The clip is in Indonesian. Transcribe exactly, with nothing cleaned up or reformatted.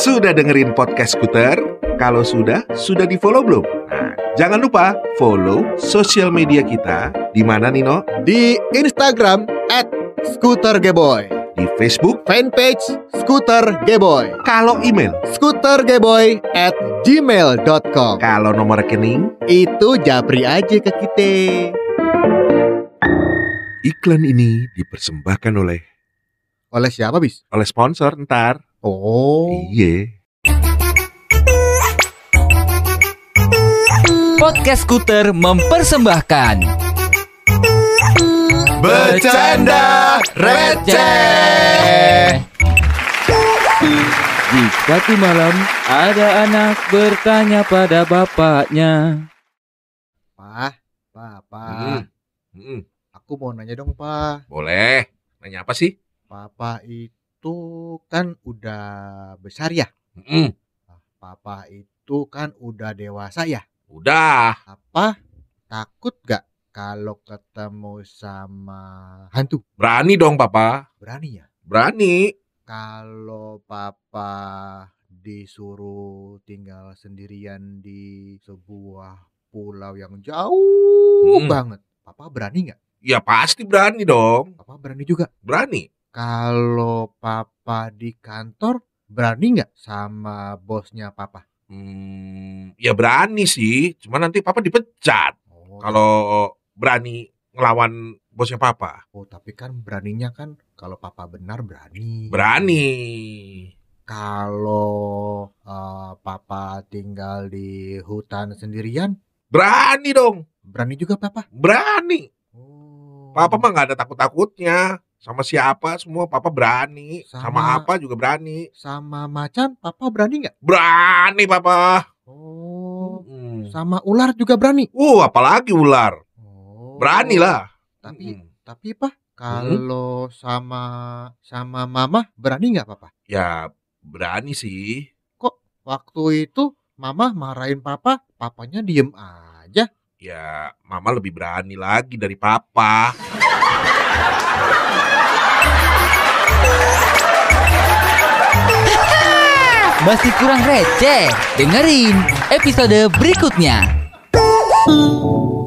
Sudah dengerin podcast Skuter? Kalau sudah, sudah di-follow belum? Nah, jangan lupa follow sosial media kita. Di mana, Nino? Di Instagram at skutergeboy, Di Facebook. fanpage Skuter Geboy. Kalau email, skutergeboy at gmail dot com. kalau nomor rekening, Itu japri aja ke kita. iklan ini dipersembahkan oleh Oleh siapa, Bis? oleh sponsor ntar. Oh. Iya. Podcast Skuter mempersembahkan Bercanda receh. Di suatu malam ada anak bertanya pada bapaknya. Pak, Pak, Pak. Hmm. Hmm. Aku mau nanya dong, Pak. Boleh. Nanya apa sih? Papa itu kan udah besar ya? Hmm. Papa itu kan udah dewasa ya? Udah. Apa takut gak kalau ketemu sama hantu? Berani dong, Papa. Berani ya? Berani. Kalau Papa disuruh tinggal sendirian di sebuah pulau yang jauh Hmm. banget, Papa berani gak? Ya pasti berani dong. Papa berani juga. Berani. Kalau Papa di kantor, berani gak sama bosnya Papa? Hmm, ya berani sih. Cuma nanti Papa dipecat. Oh, Kalau berani ngelawan bosnya Papa. oh, tapi kan beraninya kan kalau Papa benar berani. Berani. Kalau eh, Papa tinggal di hutan sendirian, Berani dong. berani juga Papa. Berani. Oh. Papa mah gak ada takut-takutnya. Sama siapa semua Papa berani. Sama, Sama- apa juga berani. Sama macan, Papa berani nggak? Berani Papa. Oh. Hmm. Sama ular juga berani. Uh, apalagi ular. Oh. Berani lah. Tapi, Hmm. tapi Pak, kalau sama sama Mama berani nggak Papa? Ya berani sih. Waktu itu Mama marahin Papa, Papanya diem aja. Ya Mama lebih berani lagi dari Papa. Masih kurang receh? Dengerin episode berikutnya.